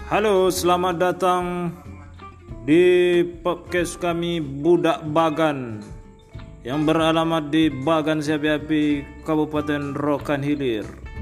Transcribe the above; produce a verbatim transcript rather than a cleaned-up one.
Halo, selamat datang di podcast kami Budak Bagan yang beralamat di Bagan Siapi Api, Kabupaten Rokan Hilir.